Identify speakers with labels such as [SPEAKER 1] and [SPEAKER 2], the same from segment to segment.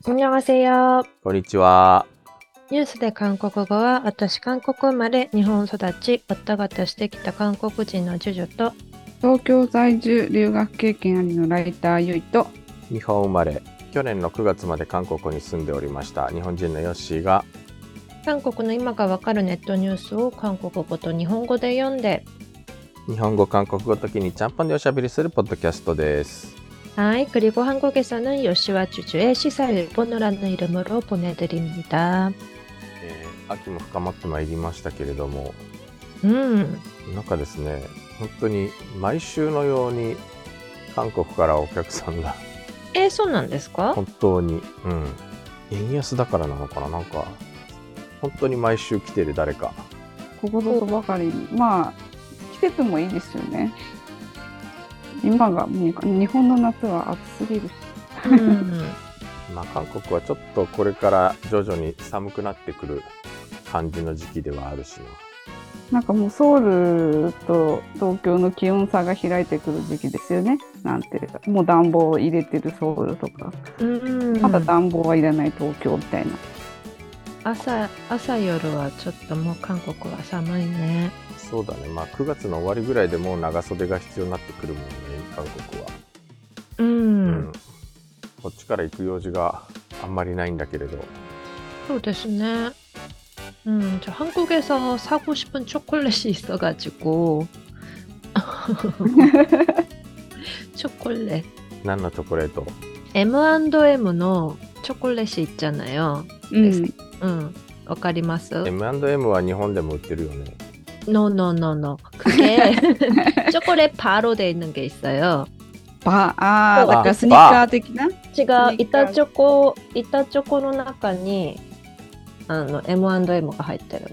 [SPEAKER 1] 안녕하세요。
[SPEAKER 2] こんにちは。
[SPEAKER 1] ニュースで韓国語は、私韓国生まれ、日本育ち、わったがたしてきた韓国人のジュジュと、
[SPEAKER 3] 東京在住留学経験ありのライターゆいと、
[SPEAKER 2] 日本生まれ、去年の9月まで韓国に住んでおりました日本人のヨッシーが、
[SPEAKER 1] 韓国の今がわかるネットニュースを韓国語と日本語で読んで、
[SPEAKER 2] 日本語韓国語時にちゃんぽんでおしゃべりするポッドキャストです。
[SPEAKER 1] はい、그리고 한국에서는 요시와 주주의 시사일본어라는 이름으로 보내드립니다。
[SPEAKER 2] 秋も深まってまいりましたけれども、なんかですね、本当に毎週のように韓国からお客さんが
[SPEAKER 1] そうなんですか？
[SPEAKER 2] 本当に、円安だからなのかな、なんか本当に毎週来てる誰か。
[SPEAKER 3] ここぞとばかりに、まあ季節もいいですよね。今が日本の夏は暑すぎる。
[SPEAKER 2] まあ韓国はちょっとこれから徐々に寒くなってくる感じの時期ではあるしな。
[SPEAKER 3] なんかもうソウルと東京の気温差が開いてくる時期ですよね。なんていうか、もう暖房を入れてるソウルとか、まだ暖房はいらない東京みたいな。
[SPEAKER 1] 朝夜はちょっともう韓国は寒いね。
[SPEAKER 2] そうだね。まあ9月の終わりぐらいでもう長袖が必要になってくるもんね、韓国は。こっちから行く用事があんまりないんだけれど。
[SPEAKER 1] そうですね。저 한국에서 사고 싶은 초콜릿이 있어가지고 초콜릿.
[SPEAKER 2] 何のチョコレート？
[SPEAKER 1] M&M の 초콜릿이 있잖아요. わかります？
[SPEAKER 2] M&M は日本でも売ってるよね。
[SPEAKER 1] No. 그게 초콜릿 바로 돼 있는 게 있어요.
[SPEAKER 3] なんかスニッカー的な？
[SPEAKER 1] 違う、板チョコの中にM&M が入ってる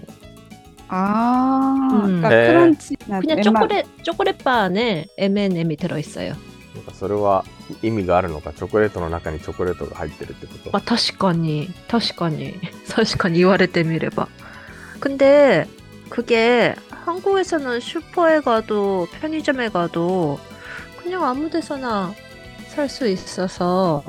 [SPEAKER 1] の。
[SPEAKER 3] クランチな。
[SPEAKER 1] 그냥 초콜릿 바 안에 M&M이 들어있어요.
[SPEAKER 2] なんかそれは意味があるのか、チョコレートの中にチョコレートが入ってるってこと？
[SPEAKER 1] 確かに言われてみれば. 근데 그게 한국에서는 슈퍼에 가도 편의점에 가도 그냥 아무 데서나 살 수 있어서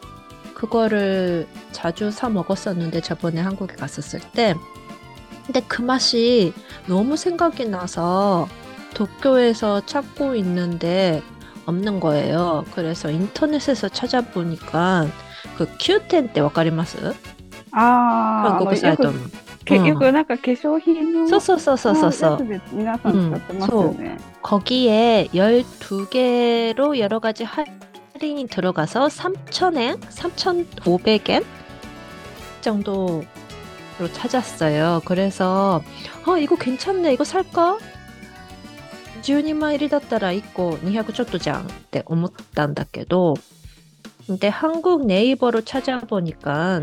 [SPEAKER 1] 그거를 자주 사 먹었었는데, 저번에 한국에 갔었을 때. 근데 그 맛이 너무 생각이 나서 도쿄에서 찾고 있는데 없는 거예요. 그래서 인터넷에서 찾아보니까 그 Q10 ってわかります？韓国サイトの。
[SPEAKER 3] よくなんか化粧品の
[SPEAKER 1] そう。
[SPEAKER 3] 皆さん使ってますよね。
[SPEAKER 1] 거기에 12개로 여러 가지 할인이 들어가서 3,000엔? 3,500엔? 정도로 찾았어요. 그래서 이거 괜찮네. 이거 살까? 12万入りだったら1個200ちょっとじゃんって思ったんだけど, 근데 한국 네이버로 찾아보니까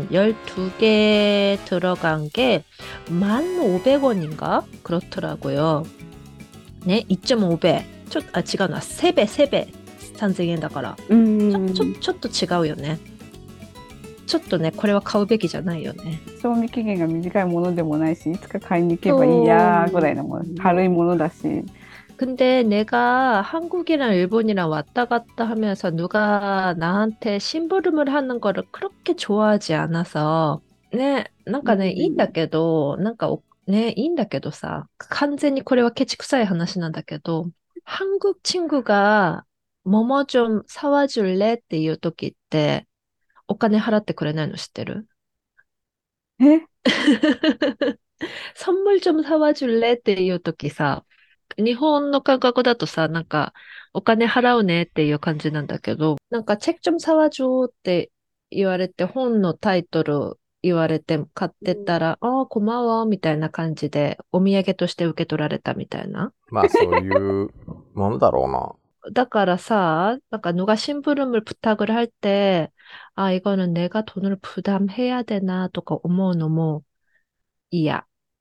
[SPEAKER 1] 12개 들어간 게 1,500원인가? 그렇더라고요. 네, 2.5배. 違うな。3배. 3,000円だから。ちょっと違うよね。ちょっとね、これは買うべきじゃないよね。
[SPEAKER 3] 賞味期限が短いものでもないし、いつか買いに行けばいいやぐらいのもの。軽いものだし。
[SPEAKER 1] 근데 내가 한국이랑 일본이랑 왔다 갔다 하면서 누가 나한테 심부름을 하는 거를 그렇게 좋아하지 않아서, 네, なんかね、いいんだけど、なんかね、いいんだけどさ、完全にこれはケチくさい話なんだけど、한국 친구가 뭐뭐 좀 사와줄래? っていう時って、お金払ってくれないの知ってる？선물 좀 사와줄래? っていう時さ、日本の感覚だとさ、なんか、お金払うねっていう感じなんだけど、なんか、チェック좀 사와줘って言われて、本のタイトル言われて買ってたら、고마워みたいな感じで、お土産として受け取られたみたいな。
[SPEAKER 2] まあそういうものだろうな。
[SPEAKER 1] だからさ、なんか누가 심부름을 부탁을 할 때, 이거는 내가 돈을 부담해야 되나とか思うのも嫌。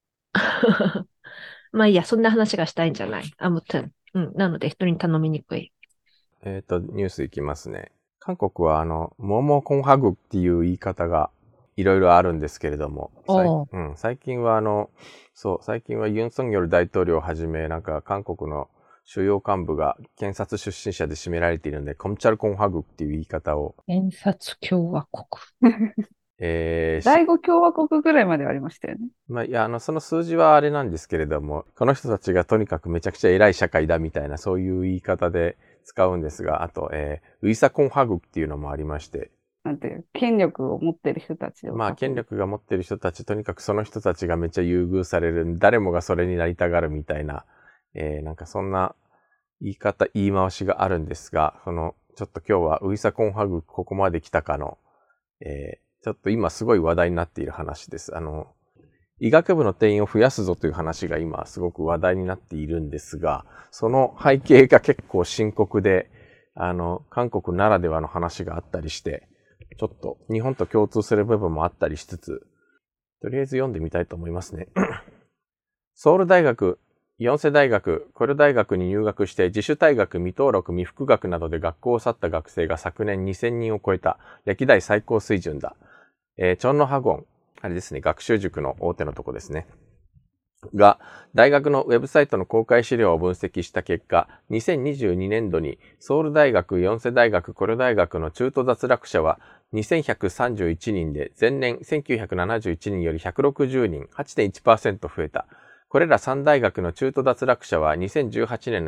[SPEAKER 1] まあいいや、そんな話がしたいんじゃない。아무튼。なので人に頼みにくい。
[SPEAKER 2] ニュースいきますね。韓国はモモコンハグっていう言い方がいろいろあるんですけれども、最近はユン・ソンニョル大統領をはじめ、なんか韓国の主要幹部が検察出身者で占められているので、コムチャルコンハグっていう言い方を、
[SPEAKER 1] 検察共和国。
[SPEAKER 3] 第五共和国ぐらいまではありましたよね。
[SPEAKER 2] まあ、いや、その数字はあれなんですけれども、この人たちがとにかくめちゃくちゃ偉い社会だみたいな、そういう言い方で使うんですが、あと、ウイサコンハグっていうのもありまして、
[SPEAKER 3] なんていう、権力を持ってる人たちを。
[SPEAKER 2] まあ、権力が持ってる人たち、とにかくその人たちがめっちゃ優遇される、誰もがそれになりたがるみたいな、なんかそんな言い回しがあるんですが、ちょっと今日はウイサコンハグここまで来たかの、ちょっと今すごい話題になっている話です。医学部の定員を増やすぞという話が今すごく話題になっているんですが、その背景が結構深刻で、韓国ならではの話があったりして、ちょっと日本と共通する部分もあったりしつつ、とりあえず読んでみたいと思いますね。ソウル大学、ヨンセ大学、コリョ大学に入学して自主退学、未登録、未復学などで学校を去った学生が昨年2000人を超えた歴代最高水準だ。チョンノハゴン、あれですね、学習塾の大手のとこですね。が、大学のウェブサイトの公開資料を分析した結果、2022年度にソウル大学、ヨンセ大学、コリョ大学の中途脱落者は2131人で、前年1971人より160人、8.1% 増えた。これら3大学の中途脱落者は2018年の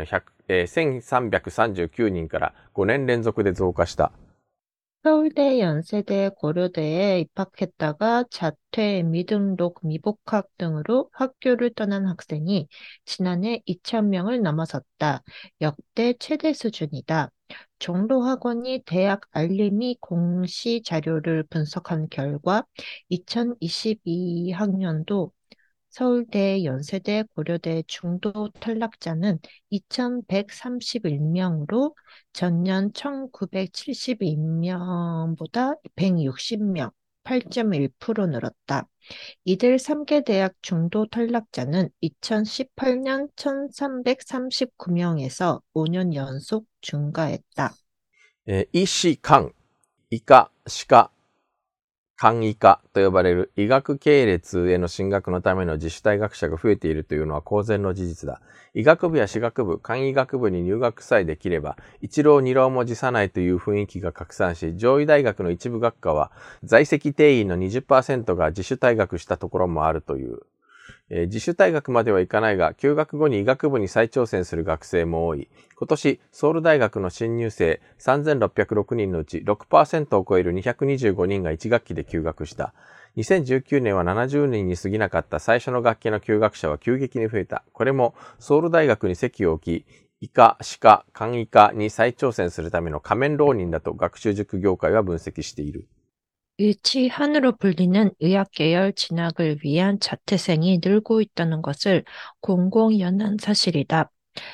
[SPEAKER 2] 1339人から5年連続で増加した。
[SPEAKER 1] 서울대, 연세대, 고려대에 입학했다가 자퇴, 미등록, 미복학 등으로 학교를 떠난 학생이 지난해 2,000명을 넘어섰다. 역대 최대 수준이다. 종로학원이 대학 알림이 공시 자료를 분석한 결과 2022학년도 서울대, 연세대, 고려대 중도 탈락자는 2,131명으로 전년 1,972명보다 160명, 8.1% 늘었다. 이들 3개 대학 중도 탈락자는 2018년 1,339명에서 5년 연속 증가했다.
[SPEAKER 2] 医師官、医科、歯科、簡易科と呼ばれる医学系列への進学のための自主退学者が増えているというのは公然の事実だ。医学部や歯学部、簡易学部に入学さえできれば、一浪二浪も辞さないという雰囲気が拡散し、上位大学の一部学科は在籍定員の 20% が自主退学したところもあるという。自主退学まではいかないが、休学後に医学部に再挑戦する学生も多い。今年、ソウル大学の新入生3606人のうち 6% を超える225人が1学期で休学した。2019年は70人に過ぎなかった最初の学期の休学者は急激に増えた。これもソウル大学に籍を置き、医科、歯科、簡易科に再挑戦するための仮面浪人だと学習塾業界は分析している。
[SPEAKER 1] 의치한으로 불리는 의학계열 진학을 위한 자퇴생이 늘고 있다는 것을 공공연한 사실이다.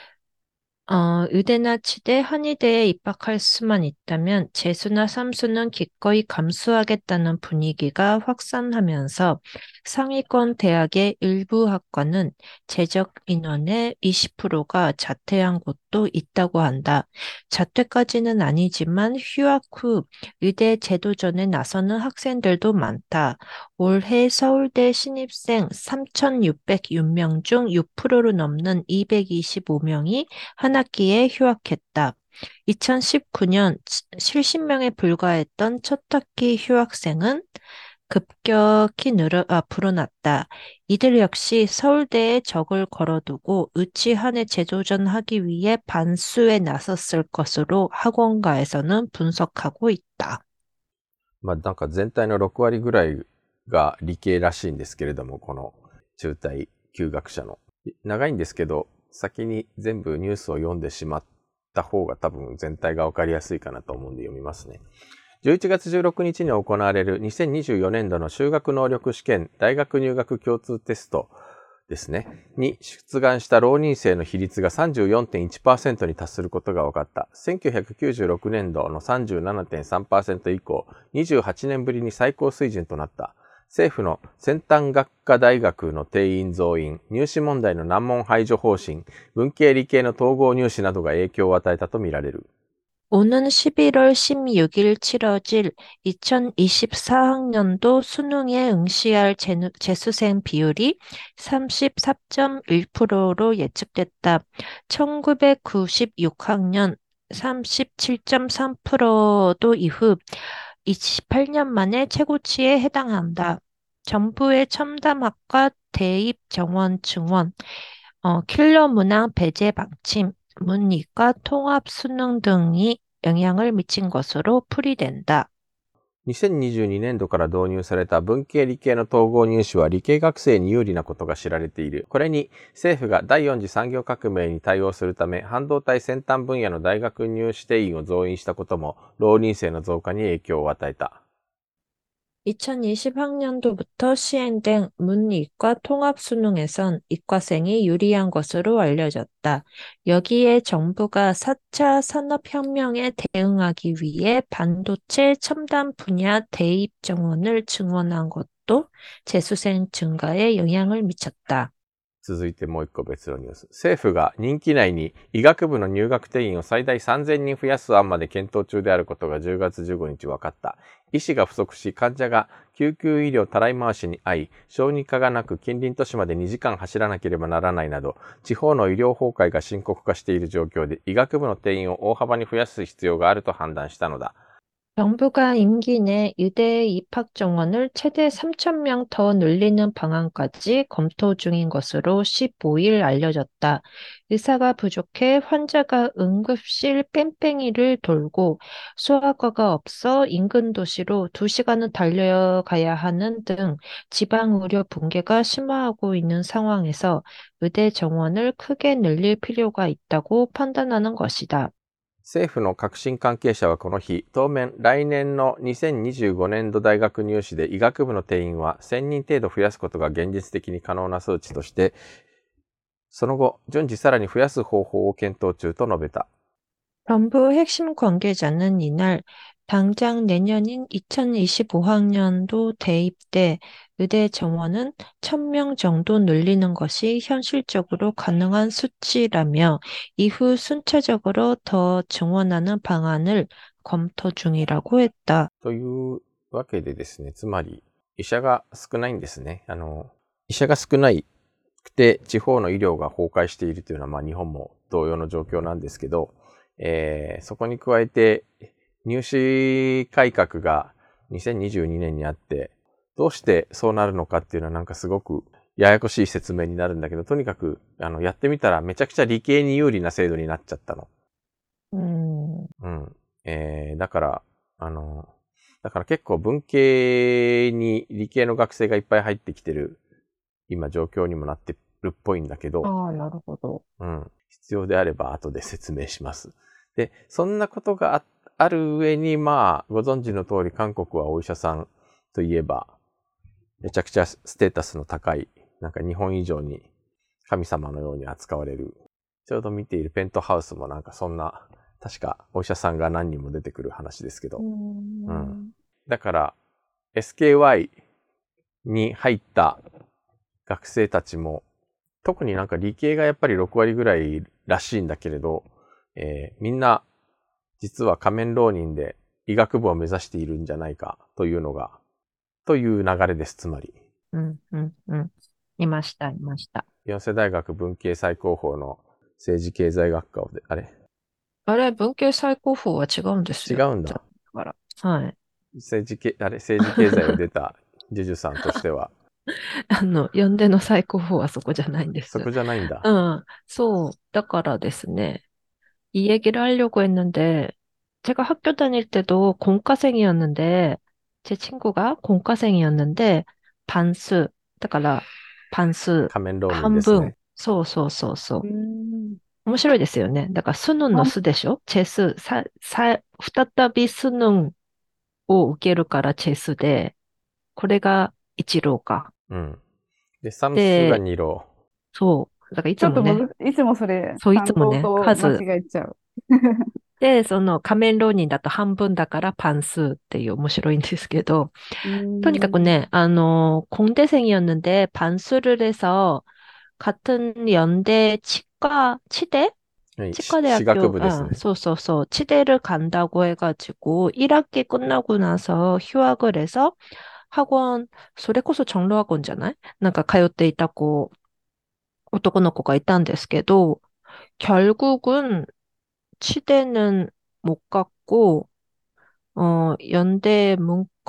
[SPEAKER 1] 의대나 치대, 한의대에 입학할 수만 있다면 재수나 삼수는 기꺼이 감수하겠다는 분위기가 확산하면서 상위권 대학의 일부 학과는 재적 인원의 20%가 자퇴한 곳도 있다고 한다. 자퇴까지는 아니지만 휴학 후 의대 재도전에 나서는 학생들도 많다. 올해 서울대 신입생 3,606명 중 6%를 넘는 225명이 한 학기에 휴학했다. 2019년 70명에 불과했던 첫 학기 휴학생은 급격히 불어났다. 이들 역시 서울대에 적을 걸어두고 의치한에 재도전하기 위해 반수에 나섰을 것으로 학원가에서는 분석하고 있다.
[SPEAKER 2] まあなんか全体の6割ぐらいが理系らしいんですけれども、この中退休学者の。長いんですけど、先に全部ニュースを読んでしまった方が多分全体がわかりやすいかなと思うんで読みますね。11月16日に行われる2024年度の修学能力試験大学入学共通テストですね。に出願した浪人生の比率が 34.1% に達することが分かった。1996年度の 37.3% 以降、28年ぶりに最高水準となった。政府の先端学科大学の定員増員、入試問題の難問排除方針、文系理系の統合入試などが影響を与えたとみられる。
[SPEAKER 1] 오는 11월 16일 치러질 2024학년도 수능에 응시할 재수생 비율이 34.1%로 예측됐다. 1996학년 37.3%도 이후 28년 만에 최고치에 해당한다. 정부의 첨단학과 대입 정원 증원, 킬러 문항 배제 방침, 문이과 통합 수능 등이 영향을 미친 것으로 풀이된다.
[SPEAKER 2] 2022年度から導入された文系理系の統合入試は理系学生に有利なことが知られている。これに政府が第4次産業革命に対応するため半導体先端分野の大学入試定員を増員したことも浪人生の増加に影響を与えた。
[SPEAKER 1] 2020학년도부터 시행된 문이과 통합수능에선 이과생이 유리한 것으로 알려졌다. 여기에 정부가 4차 산업혁명에 대응하기 위해 반도체 첨단 분야 대입 정원을 증원한 것도 재수생 증가에 영향을 미쳤다.
[SPEAKER 2] 続いてもう一個別のニュース。政府が任期内に医学部の入学定員を最大3000人増やす案まで検討中であることが10月15日分かった。医師が不足し、患者が救急医療たらい回しに遭い、小児科がなく近隣都市まで2時間走らなければならないなど、地方の医療崩壊が深刻化している状況で、医学部の定員を大幅に増やす必要があると判断したのだ。
[SPEAKER 1] 정부가 임기 내 의대 입학 정원을 최대 3,000명 더 늘리는 방안까지 검토 중인 것으로 15일 알려졌다. 의사가 부족해 환자가 응급실 뺑뺑이를 돌고 소아과가 없어 인근 도시로 2시간은 달려가야 하는 등 지방 의료 붕괴가 심화하고 있는 상황에서 의대 정원을 크게 늘릴 필요가 있다고 판단하는 것이다.
[SPEAKER 2] 政府の革新関係者はこの日、当面来年の2025年度大学入試で医学部の定員は1000人程度増やすことが現実的に可能な数値として、その後、順次さらに増やす方法を検討中と述べた。
[SPEAKER 1] 정부 핵심 관계자는 이날 당장 내년인 2025학년도 대입 때 의대 정원은 1,000명 정도 늘리는 것이 현실적으로 가능한 수치라며 이후 순차적으로 더 증원하는 방안을 검토 중이라고 했다.
[SPEAKER 2] というわけでですね、つまり医者が少ないんですね。医者が少ないくて地方の医療が崩壊しているというのは、日本も同様の状況なんですけど、そこに加えて入試改革が2022年にあって、どうしてそうなるのかっていうのはなんかすごくややこしい説明になるんだけど、とにかくやってみたらめちゃくちゃ理系に有利な制度になっちゃったの。だから結構文系に理系の学生がいっぱい入ってきてる今状況にもなってるっぽいんだけど。
[SPEAKER 3] ああ、なるほど。
[SPEAKER 2] 必要であれば後で説明します。で、そんなことがある上に、ご存知の通り韓国はお医者さんといえば、めちゃくちゃステータスの高い、なんか日本以上に神様のように扱われる。ちょうど見ているペントハウスもなんかそんな、確かお医者さんが何人も出てくる話ですけど。だから、SKY に入った学生たちも、特になんか理系がやっぱり6割ぐらいらしいんだけれど、みんな実は仮面浪人で医学部を目指しているんじゃないかというのが、という流れです、つまり。
[SPEAKER 1] いました。
[SPEAKER 2] 四世大学文系最高峰の政治経済学科をあれ
[SPEAKER 1] 文系最高峰は違うんですよ。
[SPEAKER 2] 違うんだ。
[SPEAKER 1] はい。
[SPEAKER 2] 政治経済を出たジェジュさんとしては。
[SPEAKER 1] 연대の最高峰はそこじゃないんです。
[SPEAKER 2] そこじゃないんだ。
[SPEAKER 1] そう。だからですね。이 얘기를 하려고 했는데, 제가 학교 다닐 때도 공과생이었는데, 제 친구가 공과생이었는데, 반수, だから반수,
[SPEAKER 2] 仮面浪人ですね。
[SPEAKER 1] そう。面白いですよね。だから、수능の수でしょ재수、再び수능を受けるから재수で、これが一浪か。
[SPEAKER 2] で、サムスが二浪。
[SPEAKER 1] そう。だからいつもね。
[SPEAKER 3] いつもそれ、
[SPEAKER 1] そう、いつもね、
[SPEAKER 3] 数間違えちゃう。
[SPEAKER 1] で、その仮面浪人だと半分だから半数っていう面白いんですけど、とにかくね、공대생이었는데 반수를 해서 같은 연대 치대?
[SPEAKER 2] はい、し私学
[SPEAKER 1] 치과대학교,
[SPEAKER 2] 部ですね。
[SPEAKER 1] 소소소, 치대를 간다고 해가지고, 1학기 끝나고 나서 휴학을 해서 학원, それこそ 정로학원잖아요? なんか通っていた子、男の子がいたんですけど、결국은 치대는 못 갔고, 연대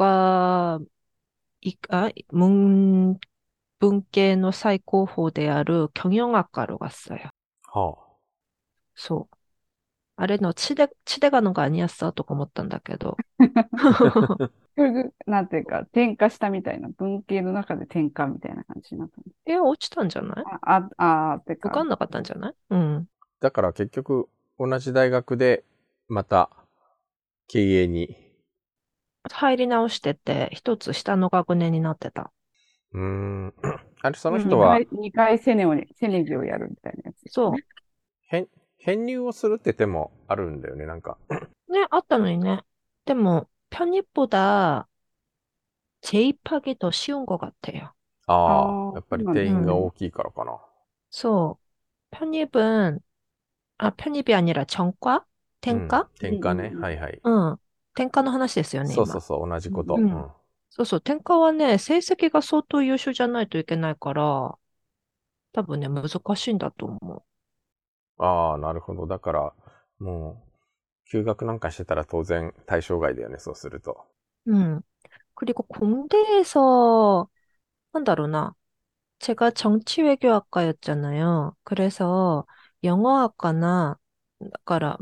[SPEAKER 1] 문계의 사이코호である 경영학과로 갔어요.
[SPEAKER 2] は
[SPEAKER 1] 소. 아래の 치대 가는 거 아니었어? とか思ったんだけど.
[SPEAKER 3] それで、なんていうか、転化したみたいな、文系の中で転化みたいな感じになったの。
[SPEAKER 1] 落ちたんじゃない？
[SPEAKER 3] てか、
[SPEAKER 1] 受かんなかったんじゃない？うん。
[SPEAKER 2] だから結局同じ大学でまた経営に。
[SPEAKER 1] 入り直してて、一つ下の学年になってた。
[SPEAKER 2] あれ、その
[SPEAKER 1] うん
[SPEAKER 2] 人は
[SPEAKER 3] 二回セネギをやるみたいなやつです
[SPEAKER 1] そ
[SPEAKER 3] ね。
[SPEAKER 2] 編入をするって手もあるんだよね、なんか。
[SPEAKER 1] う。ね、あったのにね。でも、편입보다 재입하기 더 쉬운 것 같아요.
[SPEAKER 2] ああ、やっぱり
[SPEAKER 3] そうなんですね。
[SPEAKER 2] 定員が大きいからかな。
[SPEAKER 1] そう。편입은, 편입이 아니라 전과?
[SPEAKER 2] うん。
[SPEAKER 1] 転科？
[SPEAKER 2] 転科ね。
[SPEAKER 3] うんうんうん。
[SPEAKER 2] はいはい。
[SPEAKER 1] うん。転科の話ですよね、今。
[SPEAKER 2] そうそうそう、同じこ
[SPEAKER 3] うん
[SPEAKER 2] と。
[SPEAKER 1] うん。
[SPEAKER 2] うん。
[SPEAKER 1] そうそう。転科はね、成績が相当優秀じゃないといけないから、多分ね、難しいんだと思
[SPEAKER 2] ああ、なるほど。だから、もう、休学なんかしてたら当然対象外だよね、そうすると。
[SPEAKER 1] う。うん。그리고 공대에서, なんだろうな. 제가 정치외교학과였잖아요. 그래서 영어학과나, だから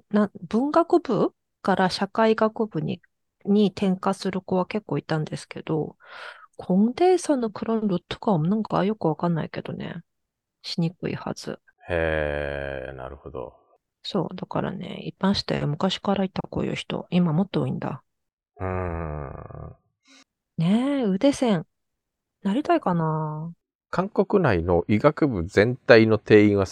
[SPEAKER 1] 文学部から 社会学部に転科する子は結構いたんですけど、 공대에서는 그런 루트가 없는가? よくわかんないけどね. しにくいはず.
[SPEAKER 2] へえ、なるほど。
[SPEAKER 1] そう。だからね、一般して昔からいたこういう人。今もっと多いんだ。
[SPEAKER 2] うーん。
[SPEAKER 1] ねえ、腕線。なりたいかな。
[SPEAKER 2] 韓国内の医学部全体の定員は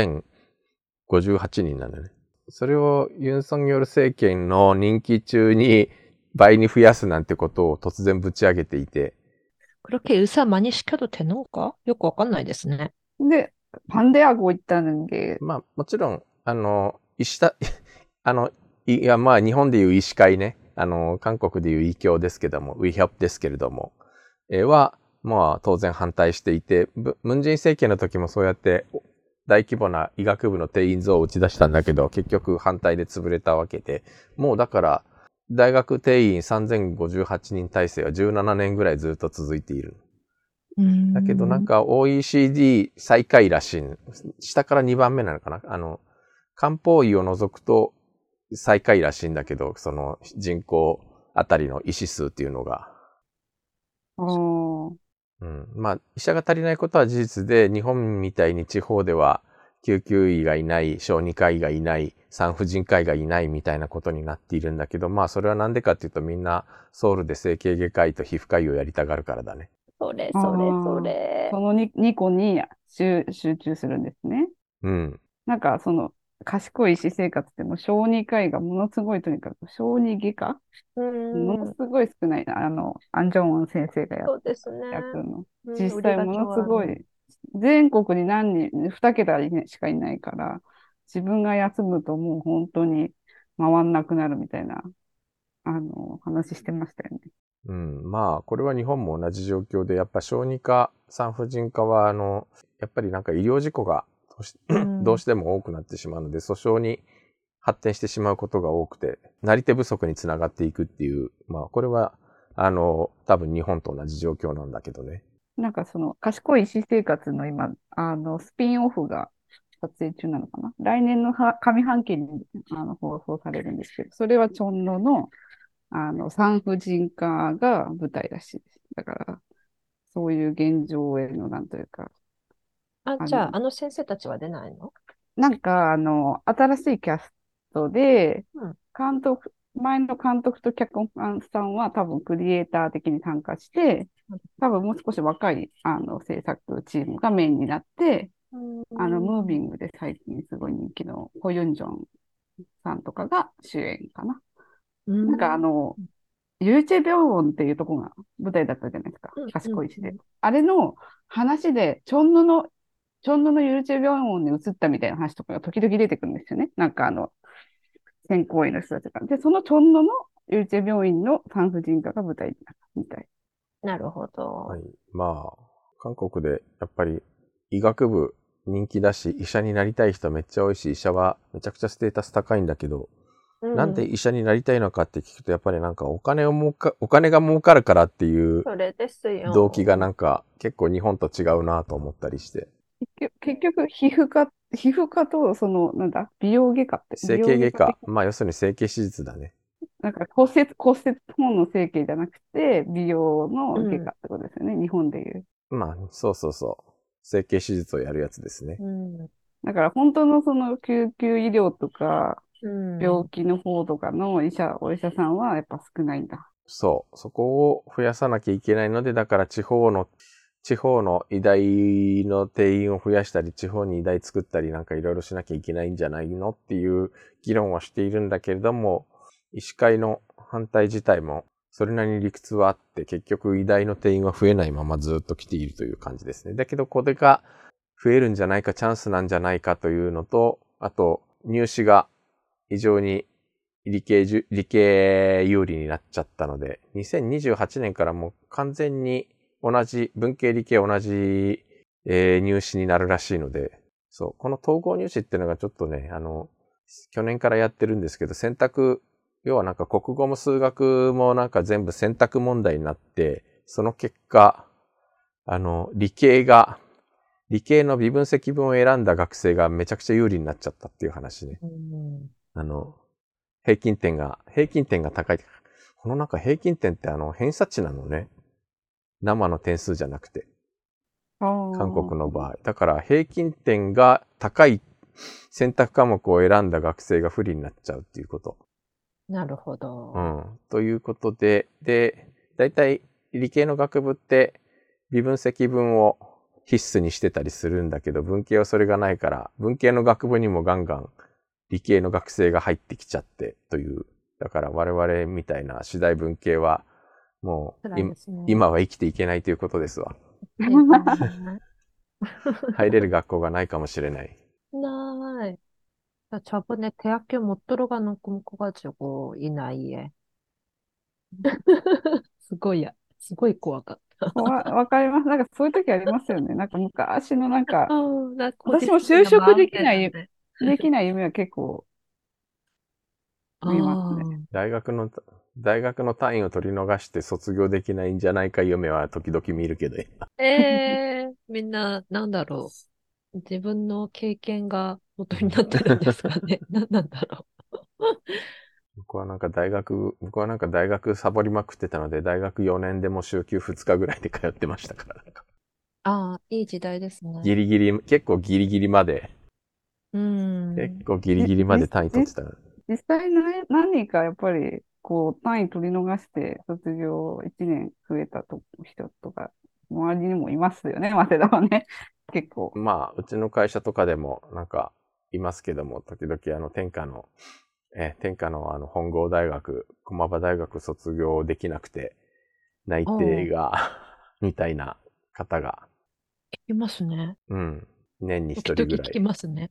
[SPEAKER 2] 3058人なんだよね。それをユン・ソンニョル政権の任期中に倍に増やすなんてことを突然ぶち上げていて。
[SPEAKER 1] 그렇게 의사 많이 시켜도 되는 건가? よくわかんないですね。
[SPEAKER 3] で、반대하고 있다는 게,
[SPEAKER 2] まあもちろん、医師だ、いやまあ日本でいう医師会ね、韓国でいう医協ですけども、ウィヒョプですけれども、は、まあ当然反対していて、ムンジェイン政権の時もそうやって大規模な医学部の定員増を打ち出したんだけど、結局反対で潰れたわけで、もうだから大学定員3058人体制は17年ぐらいずっと続いている。だけどなんか OECD 最下位らしい。下から2番目なのかな。漢方医を除くと最下位らしいんだけど、その人口あたりの医師数っていうのが。まあ、医者が足りないことは事実で、日本みたいに地方では救急医がいない、小児科医がいない、産婦人科医がいないみたいなことになっているんだけど、まあそれはなんでかっていうとみんなソウルで整形外科医と皮膚科医をやりたがるからだね。
[SPEAKER 1] それ。
[SPEAKER 3] その2個に集中するんですね。
[SPEAKER 2] うん。
[SPEAKER 3] なんか賢い医師生活でも小児科医がものすごいとにかく小児外科ものすごい少ないな。アンジョンウォン先生が
[SPEAKER 1] そうですね。
[SPEAKER 3] やるの。
[SPEAKER 1] うん、
[SPEAKER 3] 実際ものすごい、全国に2桁しかいないから、自分が休むともう本当に回んなくなるみたいな、話してましたよね。
[SPEAKER 2] うん。まあ、これは日本も同じ状況で、やっぱ小児科、産婦人科は、やっぱりなんか医療事故がどうしても多くなってしまうので、訴訟に発展してしまうことが多くて、なり手不足につながっていくっていう、まあ、これは、多分日本と同じ状況なんだけどね。
[SPEAKER 3] なんか賢い医師生活の今、スピンオフが撮影中なのかな。来年の上半期に放送されるんですけど、それはチョンノの、産婦人科が舞台らしいです。だから、そういう現状への、なんというか、
[SPEAKER 1] じゃあ、先生たちは出ないの？
[SPEAKER 3] なんか、新しいキャストで、
[SPEAKER 1] うん。
[SPEAKER 3] 前の監督と脚本さんは多分クリエイター的に参加して、多分もう少し若い、制作チームがメインになって、ムービングで最近すごい人気のコユンジョンさんとかが主演かな。なんかユーチェビョンウォンっていうとこが舞台だったじゃないですか。賢いしで。あれの話で、チョンノのチョンヌのユルチェ病院に移ったみたいな話とかが時々出てくるんですよね。なんか選考医の人たちが。で、そのチョンヌのユルチェ病院の産婦人科が舞台になるみたい。
[SPEAKER 1] なるほ
[SPEAKER 2] は
[SPEAKER 1] ど。
[SPEAKER 2] い。まあ、韓国でやっぱり医学部人気だし、医者になりたい人めっちゃ多いし、医者はめちゃくちゃステータス高いんだけど、なんで医者になりたいのかって聞くと、やっぱりなんかお金が儲かるからっていう
[SPEAKER 1] それですよ。
[SPEAKER 2] 動機がなんか結構日本と違うなと思ったりして。
[SPEAKER 3] 結局、皮膚科と、なんだ、美容外科って、
[SPEAKER 2] 整形外科。まあ要するに整形手術だね。
[SPEAKER 3] なんか骨折本の整形じゃなくて、美容の外科ってことですよね、日本でいう。
[SPEAKER 2] まあ、そうそうそう。整形手術をやるやつですね。
[SPEAKER 3] だから本当のその救急医療とか、
[SPEAKER 1] うん
[SPEAKER 3] 病気の方とかのお医者さんはやっぱ少ないんだ。
[SPEAKER 2] そう。そこを増やさなきゃいけないので、だから地方の医大の定員を増やしたり、地方に医大作ったりなんかいろいろしなきゃいけないんじゃないのっていう議論はしているんだけれども、医師会の反対自体もそれなりに理屈はあって、結局医大の定員は増えないままずっと来ているという感じですね。だけどこれが増えるんじゃないか、チャンスなんじゃないかというのと、あと入試が非常に理系有利になっちゃったので、2028年からもう完全に文系理系同じ、入試になるらしいので、そう、この統合入試っていうのがちょっとね、去年からやってるんですけど、要はなんか国語も数学もなんか全部選択問題になって、その結果、理系の微分積分を選んだ学生がめちゃくちゃ有利になっちゃったっていう話ね。平均点が高い。このなんか平均点って偏差値なのね。生の点数じゃなくて。韓国の場合。だから平均点が高い選択科目を選んだ学生が不利になっちゃうっていうこと。
[SPEAKER 1] なるほど。
[SPEAKER 2] ということで、だいたい理系の学部って微分積分を必須にしてたりするんだけど、文系はそれがないから、文系の学部にもガンガン理系の学生が入ってきちゃってという。だから我々みたいな次第文系はもう、今は生きていけないということですわ。入れる学校がないかもしれない。
[SPEAKER 1] ない. 저번에 대학교 못 들어가는 꿈 꿔가지고 이 나이에. すごい怖かった。
[SPEAKER 3] わかります。なんかそういう時ありますよね。なんか昔のなんか、
[SPEAKER 1] なんか
[SPEAKER 3] 私も就職できない夢は結構見えますね。
[SPEAKER 2] 大学の単位を取り逃して卒業できないんじゃないか夢は時々見るけど。
[SPEAKER 1] みんな、なんだろう。自分の経験が元になってるんですかね。何なんだろ
[SPEAKER 2] 僕はなんか大学サボりまくってたので、大学4年でも週休2日ぐらいで通ってましたから。
[SPEAKER 1] いい時代ですね。
[SPEAKER 2] 結構ギリギリまで。結構ギリギリまで単位取ってた。
[SPEAKER 3] 実際何人かやっぱり、単位取り逃して卒業1年増えた人とか、周りにもいますよね、早稲田はね。結構。
[SPEAKER 2] まあ、うちの会社とかでもなんかいますけども、時々天下の本郷大学、駒場大学卒業できなくて、内定が、みたいな方が。
[SPEAKER 1] 聞きますね。
[SPEAKER 2] 年に一人ぐらい。
[SPEAKER 1] 聞きますね。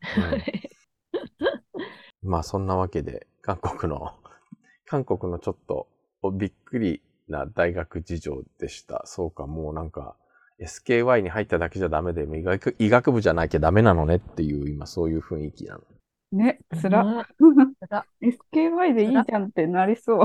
[SPEAKER 2] まあそんなわけで、韓国のちょっとびっくりな大学事情でした。そうか、もうなんか SKY に入っただけじゃダメで、医学部じゃなきゃダメなのねっていう、今そういう雰囲気なの。
[SPEAKER 3] ね、つら。SKY でいいじゃんってなりそう。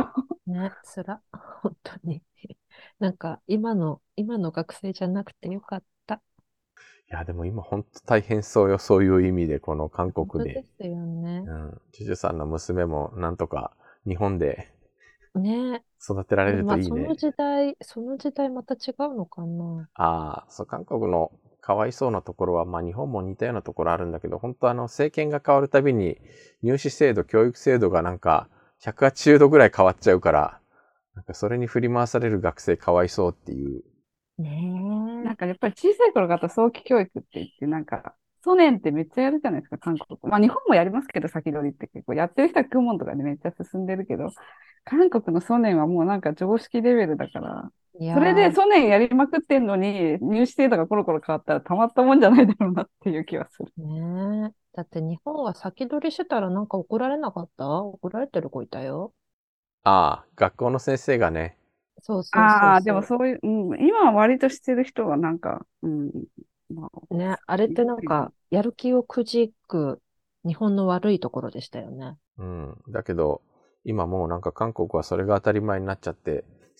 [SPEAKER 1] ね、つら。本当に。なんか今の学生じゃなくてよかった。
[SPEAKER 2] いや、でも今本当大変そうよ。そういう意味で、この韓国で。
[SPEAKER 1] 本当ですよね。
[SPEAKER 2] ジュジュさんの娘もなんとか日本で
[SPEAKER 1] ね、
[SPEAKER 2] 育てられるといいね。
[SPEAKER 1] その時代また違うのかな。
[SPEAKER 2] そう、韓国のかわいそうなところは、まあ日本も似たようなところあるんだけど、本当政権が変わるたびに入試制度、教育制度がなんか180度ぐらい変わっちゃうから、なんかそれに振り回される学生かわいそうっていう。
[SPEAKER 3] なんかやっぱり小さい頃から早期教育って言って、なんか、ソ年ってめっちゃやるじゃないですか、韓国。まあ日本もやりますけど、先取りって結構やってる人は公文とかでめっちゃ進んでるけど、韓国のソ年はもうなんか常識レベルだから、
[SPEAKER 1] い
[SPEAKER 3] それで
[SPEAKER 1] やー、
[SPEAKER 3] ソネンやりまくってんのに、入試制度がコロコロ変わったらたまったもんじゃないだろうなっていう気がする。
[SPEAKER 1] ねえ。だって日本は先取りしてたらなんか怒られなかった？怒られてる子いたよ。
[SPEAKER 2] ああ、学校の先生がね、
[SPEAKER 1] そうそうそう
[SPEAKER 3] ああ、でも
[SPEAKER 1] そ
[SPEAKER 3] そういう、うん、今は割としてる人はなんか、うん、まあ、
[SPEAKER 1] う。ね、あれってなん
[SPEAKER 3] いるけど、
[SPEAKER 1] か、やる気をくじく日本の悪いところでしたよね。
[SPEAKER 2] うん。だけど、今もうなんか韓国はそれが当たり前になっちゃって、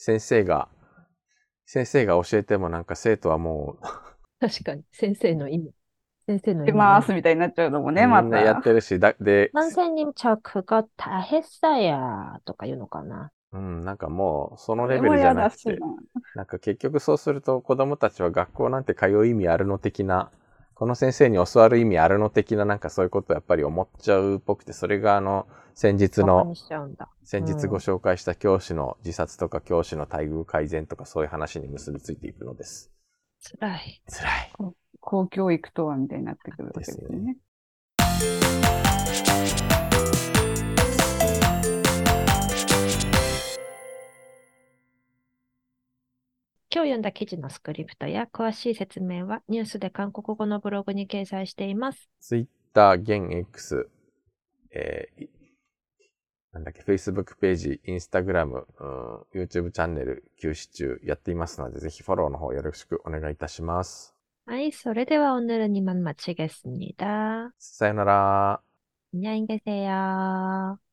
[SPEAKER 2] 先生が教えてもなんか生徒はも
[SPEAKER 1] 確かに、先生の意味。先生の
[SPEAKER 3] 出
[SPEAKER 1] 意味何？
[SPEAKER 3] ますみたいになっちゃうのもね、
[SPEAKER 2] うみ
[SPEAKER 3] ま
[SPEAKER 2] んなやって
[SPEAKER 3] た。
[SPEAKER 2] るし、で、
[SPEAKER 1] 선생님、저 그거 다 했어요. とか言うのかな。
[SPEAKER 2] うん、なんかもうその
[SPEAKER 3] それ
[SPEAKER 2] レベルじゃ
[SPEAKER 3] も嫌だし
[SPEAKER 2] なくて、
[SPEAKER 3] な。
[SPEAKER 2] なんか結局そうすると子供たちは学校なんて通う意味あるの的な、この先生に教わる意味あるの的ななんかそういうことをやっぱり思っちゃうっぽくて、それが先日の、
[SPEAKER 1] バカにしちゃうんだ。
[SPEAKER 2] 先日ご紹介した教師の自殺とか教師の待遇改善とかそういう話に結びついていくのです。
[SPEAKER 1] 辛い。
[SPEAKER 2] 辛い
[SPEAKER 3] 公教育とはみたいになってくるわけ
[SPEAKER 2] ですね。
[SPEAKER 3] ですね。
[SPEAKER 1] 今日読んだ記事のスクリプトや詳しい説明はニュースで韓国語のブログに掲載しています。
[SPEAKER 2] Twitter、現 X、なんだっけ、Facebook ページ、Instagram、YouTube チャンネル休止中やっていますので、ぜひフォローの方よろしくお願いいたします。
[SPEAKER 1] はい、それでは오늘은이만마치겠습니다。
[SPEAKER 2] さよなら。
[SPEAKER 1] 안녕히계세요。